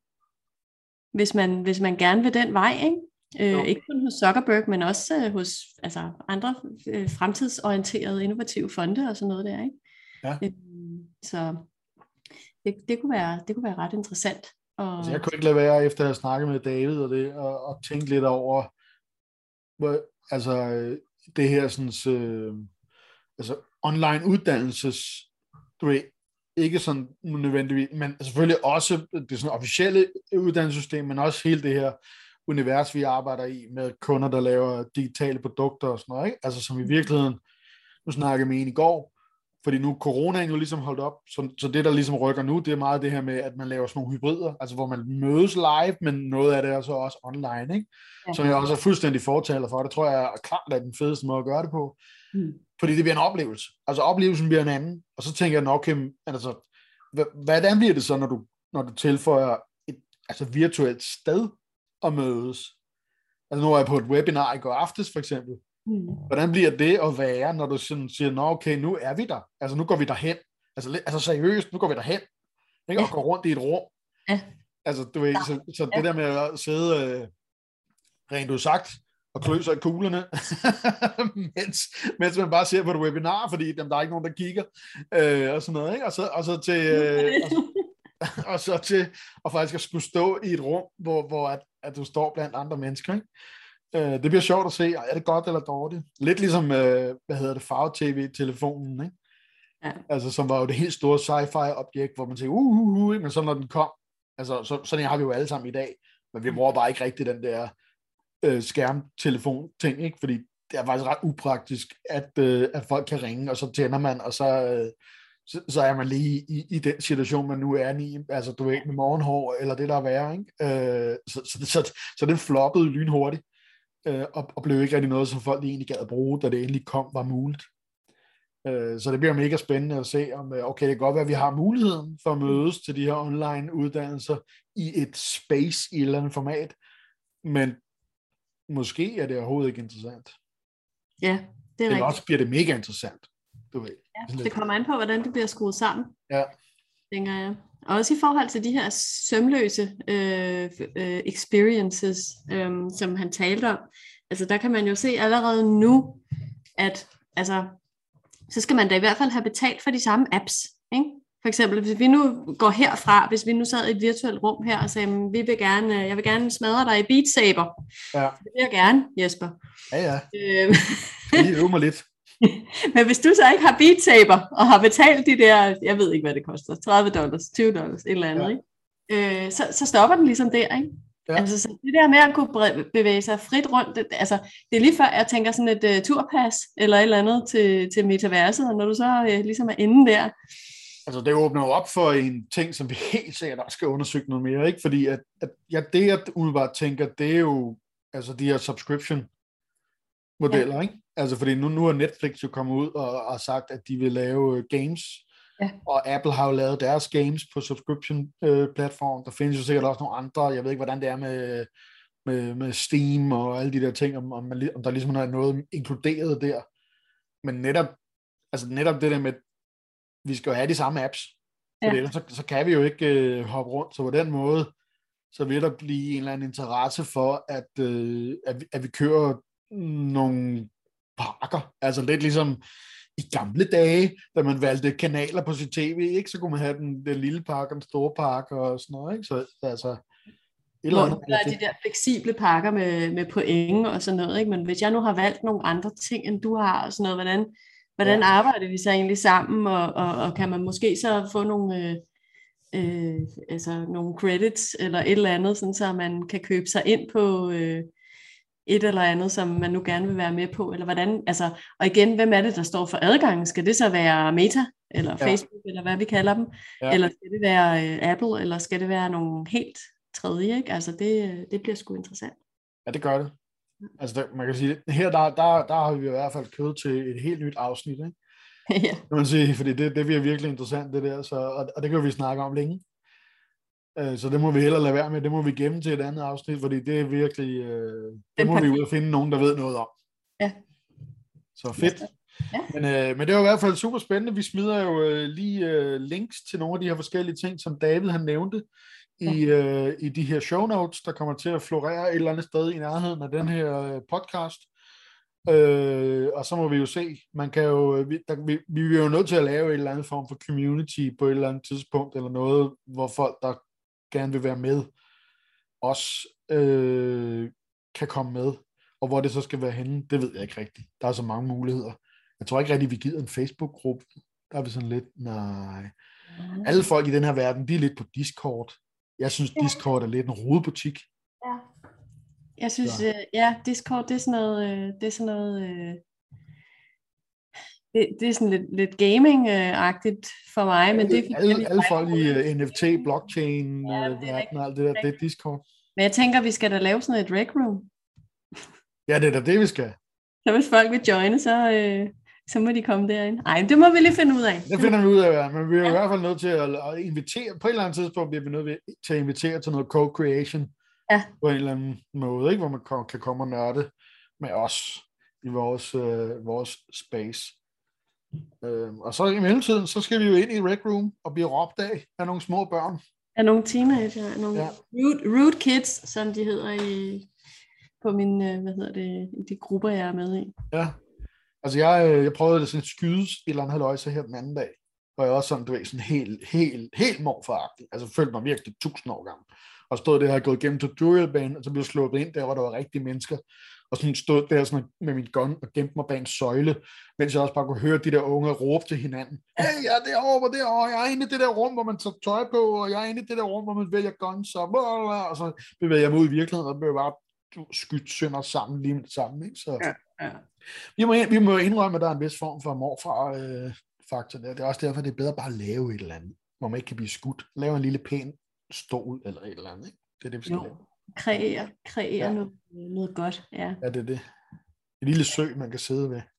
hvis man, hvis man gerne vil den vej, ikke? Øh, ikke kun hos Zuckerberg, men også øh, hos altså, andre øh, fremtidsorienterede innovative fonde og sådan noget der, ikke? Ja. Øh, så det, det, kunne være, det kunne være ret interessant. Og... Altså, jeg kunne ikke lade være, efter at have snakket med David og det, og, og tænke lidt over, hvor, altså det her sådan, øh, altså online uddannelses, du ved, ikke sådan nødvendigvis, men selvfølgelig også det sådan officielle uddannelsessystem, men også hele det her univers, vi arbejder i, med kunder, der laver digitale produkter og sådan noget, ikke? Altså som i virkeligheden, nu snakker jeg med en i går, fordi nu er coronaen jo ligesom holdt op, så, så det, der ligesom rykker nu, det er meget det her med, at man laver sådan nogle hybrider, altså hvor man mødes live, men noget af det er så også online, ikke? Ja. Som jeg også er fuldstændig fortaler for. Det tror jeg er klart er den fedeste måde at gøre det på. Mm. Fordi det bliver en oplevelse. Altså oplevelsen bliver en anden. Og så tænker jeg nok, altså, hvordan bliver det så, når du, når du tilføjer et altså, virtuelt sted at mødes? Altså nu er jeg på et webinar i går aftes, for eksempel. Mm. Hvordan bliver det at være, når du sådan siger, nå okay, nu er vi der. Altså nu går vi derhen. Altså, altså seriøst, nu går vi derhen. Ikke? Og går rundt i et rum. Ja. Altså du ved, så, så det der med at sidde, øh, rent ud sagt, og klø sig i kuglerne, mens, mens man bare ser på et webinar, fordi dem, der er ikke nogen, der kigger, øh, og sådan noget, ikke? Og så, og så til... Øh, og, så, og så til at faktisk at skulle stå i et rum, hvor, hvor at, at du står blandt andre mennesker, ikke? Det bliver sjovt at se, er det godt eller dårligt? Lidt ligesom, hvad hedder det, farve-tv-telefonen, ikke? Ja. Altså, som var jo det helt store sci-fi-objekt, hvor man tænker, uh, uh, uh, men så når den kom, altså, så, sådan har vi jo alle sammen i dag, men vi bruger bare ikke rigtig den der øh, skærmtelefon-ting, ikke? Fordi det er faktisk ret upraktisk, at, øh, at folk kan ringe, og så tænder man, og så, øh, så, så er man lige i, i den situation, man nu er i, altså du ved, med morgenhår, eller det der er værre, ikke? Øh, så, så, så, så den floppede lynhurtigt. Og, og blev ikke rigtig noget, som folk egentlig gad at bruge, da det endelig kom, var muligt. Øh, så det bliver mega spændende at se, om okay, det kan godt være, at vi har muligheden for at mødes til de her online uddannelser i et space i et eller andet format, men måske er det overhovedet ikke interessant. Ja, det er Eller rigtigt. også bliver det mega interessant. Du ved. Ja, det kommer an på, hvordan det bliver skruet sammen. Ja. Tænker jeg. Og også i forhold til de her sømløse øh, øh, experiences, øh, som han talte om. Altså der kan man jo se allerede nu, at altså, så skal man da i hvert fald have betalt for de samme apps. Ikke? For eksempel, hvis vi nu går herfra, hvis vi nu sad i et virtuelt rum her og sagde, vi vil gerne, jeg vil gerne smadre dig i Beat Saber. Ja. Det vil jeg gerne, Jesper. Ja, ja. Øh, Jeg øver mig lidt. Men hvis du så ikke har Beat Saber, og har betalt de der, jeg ved ikke, hvad det koster, tredive dollars, tyve dollars, et eller andet, ja. ikke? Øh, så, så stopper den ligesom der, ikke? Ja. Altså, så det der med at kunne bevæge sig frit rundt, det, altså, det er lige før, jeg tænker sådan et uh, turpas, eller et eller andet til, til metaverset, og når du så uh, ligesom er inde der. Altså, det åbner jo op for en ting, som vi helt sikkert også skal undersøge noget mere, ikke? Fordi at, at ja, det, jeg umiddelbart tænker, det er jo altså de her subscription-modeller, ja. Ikke? Altså, fordi nu, nu er Netflix jo kommet ud og, og sagt, at de vil lave uh, games, ja. Og Apple har jo lavet deres games på subscription-platform. Uh, der findes jo sikkert også nogle andre, jeg ved ikke, hvordan det er med, med, med Steam og alle de der ting, om, om, man, om der ligesom er noget inkluderet der. Men netop, altså netop det der med, vi skal jo have de samme apps, for ja. Ellers så, så kan vi jo ikke uh, hoppe rundt, så på den måde, så vil der blive en eller anden interesse for, at, uh, at, vi, at vi kører nogle pakker, altså lidt ligesom i gamle dage, da man valgte kanaler på sit tv, ikke, så kunne man have den, den lille pakke, den store pakke og sådan noget, ikke, så altså et eller andet. Der er de der fleksible pakker med, med point og sådan noget, ikke, men hvis jeg nu har valgt nogle andre ting, end du har og sådan noget, hvordan Hvordan arbejder vi så egentlig sammen, og, og, og kan man måske så få nogle, øh, øh, altså nogle credits eller et eller andet, sådan så man kan købe sig ind på øh, et eller andet, som man nu gerne vil være med på, eller hvordan, altså, og igen, hvem er det, der står for adgangen? Skal det så være Meta, eller ja. Facebook, eller hvad vi kalder dem, ja. Eller skal det være øh, Apple, eller skal det være nogle helt tredje, ikke? Altså det, det bliver sgu interessant. Ja, det gør det. Altså, der, man kan sige, her der, der, der har vi i hvert fald kød til et helt nyt afsnit, ikke? Ja. Kan man sige, fordi det, det bliver virkelig interessant, det der, så, og, og det kan vi snakke om længe. Uh, så det må vi hellere lade være med, det må vi gemme til et andet afsnit, fordi det er virkelig, uh, det må vi ud og finde nogen, der ved noget om. Ja. Så fedt. Ja. Men, uh, men det var i hvert fald super spændende. Vi smider jo uh, lige uh, links til nogle af de her forskellige ting, som David han nævnte, i, øh, i de her show notes, der kommer til at florere et eller andet sted i nærheden af den her øh, podcast. Øh, og så må vi jo se, man kan jo, vi, der, vi, vi er jo nødt til at lave en eller anden form for community på et eller andet tidspunkt, eller noget, hvor folk, der gerne vil være med, også øh, kan komme med. Og hvor det så skal være henne, det ved jeg ikke rigtigt. Der er så mange muligheder. Jeg tror ikke rigtig, vi gider en Facebook-gruppe. Der er vi sådan lidt, nej. Alle folk i den her verden, de er lidt på Discord. Jeg synes, Discord er lidt en rodebutik. Ja. Jeg synes, øh, ja, Discord, det er sådan noget, øh, det er sådan noget, øh, det, det er sådan lidt, lidt gaming-agtigt for mig, men det er alle, alle, alle folk i uh, N F T, blockchain, ja, uh, verden og alt det der, det er Discord. Men jeg tænker, vi skal da lave sådan et rec room. Ja, det er da det, vi skal. Så hvis folk vil joine, så... Øh, så må de komme derind. Ej, det må vi lige finde ud af. Det finder vi ud af, ja. Men vi er ja. i hvert fald nødt til at, at invitere, på et eller andet tidspunkt bliver vi nødt til at invitere til noget co-creation, ja. På en eller anden måde, ikke? Hvor man kan komme og nørde med os i vores, øh, vores space. Øh, og så i mellemtiden, så skal vi jo ind i Rec Room og blive råbt af af nogle små børn. Af nogle teenager, af nogle ja. rude, rude kids, som de hedder i, på mine, hvad hedder det, i de grupper, jeg er med i. Ja. Altså, jeg, jeg prøvede det sådan et skydes et eller andet halvøjse her den anden dag, hvor jeg også sådan, du ved, sådan helt, helt, helt morfaragtig. Altså, følte mig virkelig tusind år gammel. Og stod der og gået igennem tutorialbanen, og så blev jeg slået ind der, hvor der var rigtige mennesker. Og sådan stod der sådan med min gun og gemte mig bag en søjle, mens jeg også bare kunne høre de der unge råbe til hinanden. Hey, jeg er derovre, derovre, jeg er inde i det der rum, hvor man tager tøj på, og jeg er inde i det der rum, hvor man vælger guns, og, og så bevæger jeg mig ud i virkeligheden, og blev bare skudt sønder sammen lige med det samme. Ikke? Så... Ja. Ja. Vi, må, vi må indrømme, at der er en vis form for morfar-faktor. Øh, det er også derfor, det er bedre bare at lave et eller andet, hvor man ikke kan blive skudt. Lave en lille pæn stol eller et eller andet. Ikke? Det er det, vi skal jo. lave. Kreere, kreere ja. noget, noget godt. Ja. ja, det er det. En lille sø, man kan sidde ved.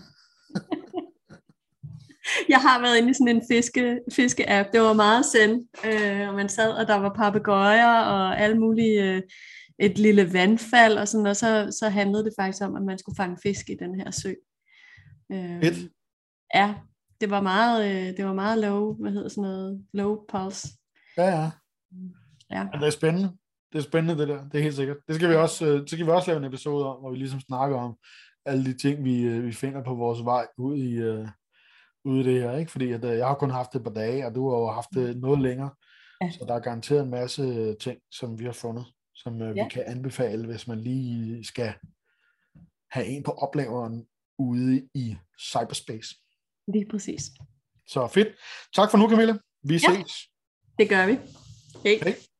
Jeg har været inde i sådan en fiske, fiske-app. Det var meget zen. Øh, og man sad, og der var papegøjer og alle mulige... Øh, et lille vandfald, og, sådan, og så, så handlede det faktisk om, at man skulle fange fisk i den her sø. Øh, Fedt. Ja, det var meget, øh, det var meget low, hvad hedder sådan noget, low pulse. Ja, ja. Ja. Men det er spændende. Det er spændende, det der. Det er helt sikkert. Det skal vi også, øh, så skal vi også lave en episode om, hvor vi ligesom snakker om alle de ting, vi, øh, vi finder på vores vej ud i, øh, ud i det her. Ikke? Fordi at, øh, jeg har kun haft det et par dage, og du har jo haft det noget længere. Ja. Så der er garanteret en masse ting, som vi har fundet, som øh, ja. vi kan anbefale, hvis man lige skal have en på oplaveren ude i cyberspace. Lige præcis. Så fedt. Tak for nu, Camilla. Vi Ja, ses. det gør vi. Hej. Hej.